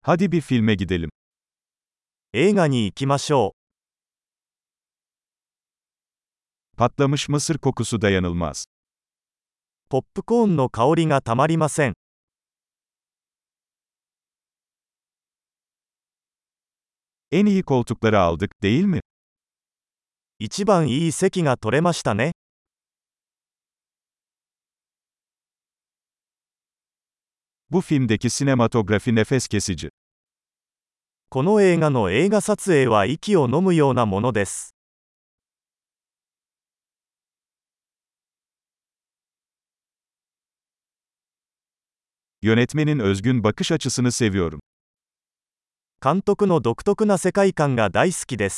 Hadi bir filme gidelim. 映画に行きましょ Patlamış mısır kokusu dayanılmaz. う。ポップコーンの香りがたまりません。 En iyi koltukları aldık, değil mi? 一番いい席が取れましたね。 Bu filmdeki sinematografi nefes kesici. この映画の映画撮影は息を飲むようなものです。 Yönetmenin özgün bakış açısını seviyorum. 監督の独特な世界観が大好きです。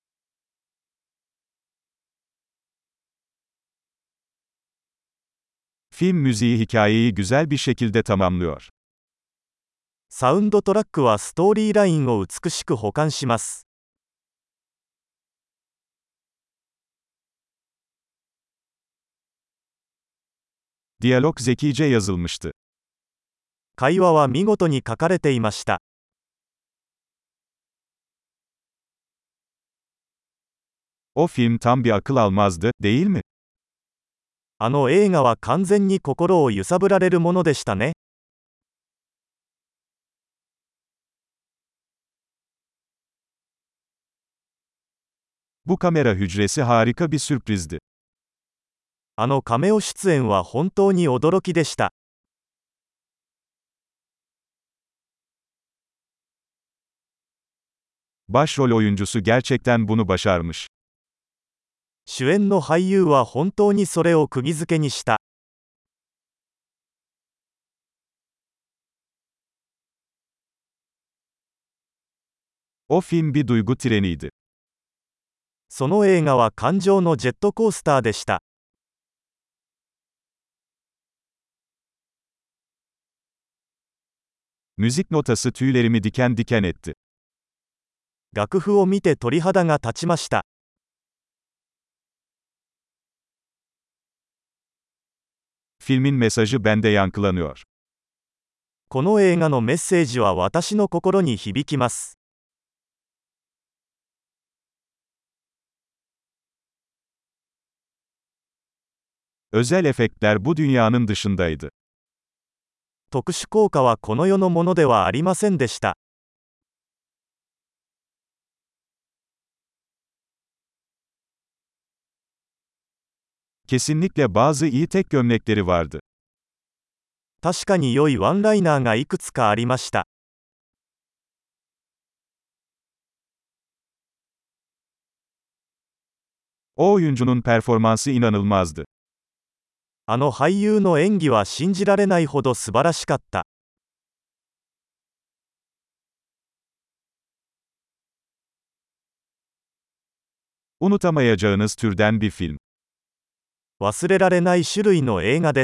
Film müziği hikayeyi güzel bir şekilde tamamlıyor. サウンドトラックはストーリーラインを美しく補完します。 Diyalog zekice yazılmıştı. 会話は見事に書かれていました。 O film tam bir akıl almazdı, değil mi? あの映画は完全に心を揺さぶられるものでしたね。 Bu kamera hücresi harika bir sürprizdi. あのカメオ出演は本当に驚きでした。 Başrol oyuncusu gerçekten bunu başarmış. 主演の俳優は本当にそれを釘付けにした。 O film bir duygu treniydi. その映画は感情のジェットコースターでした。 Müzik notası tüylerimi diken diken etti. 楽譜を見て鳥肌が立ちました。 Filmin mesajı bende yankılanıyor. この映画のメッセージは私の心に響きます。 Özel efektler bu dünyanın dışındaydı. 特殊効果はこの世のものではありませんでした。 Kesinlikle bazı iyi tek gömlekleri vardı. 確かに良いワンライナーがいくつかありました。 O oyuncunun performansı inanılmazdı. あの俳優の演技は信じられないほど素晴らしかった。 Unutamayacağınız türden bir film. 忘れられない種類の映画です。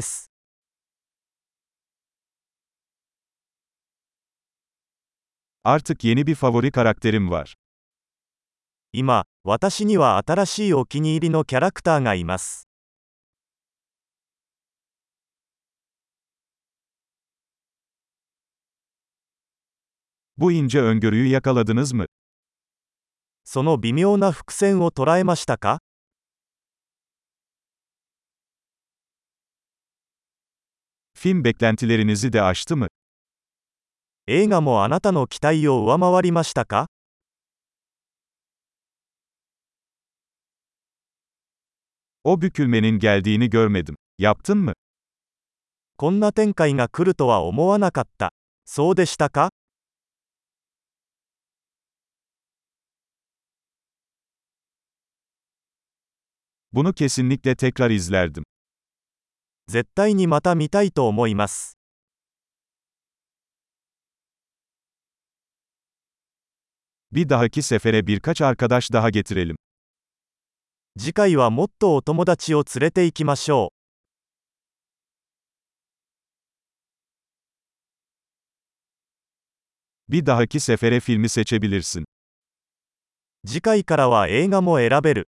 Artık yeni bir favori karakterim var. 今、私には新しいお気に入りのキャラクターがいます。 Bu ince öngörüyü yakaladınız mı? その微妙な伏線を捉えましたか？ Film beklentilerinizi de aştı mı? 映画もあなたの期待を上回りましたか？ O bükülmenin geldiğini görmedim. Yaptın mı? こんな展開が来るとは思わなかった。そうでしたか？ Bunu kesinlikle tekrar izlerdim. 絶対にまた見たいと思います。 Bir dahaki sefere birkaç arkadaş daha getirelim. 次回はもっとお友達を連れて行きましょう。Bir dahaki sefere filmi seçebilirsin. う。次回からは映画も選べる。